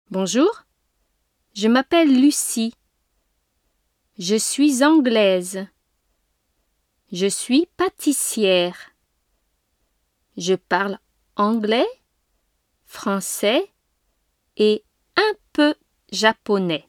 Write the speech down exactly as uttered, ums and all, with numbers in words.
Bonjour, je m'appelle Lucie. Je suis anglaise. Je suis pâtissière. Je parle anglais, français et un peu japonais.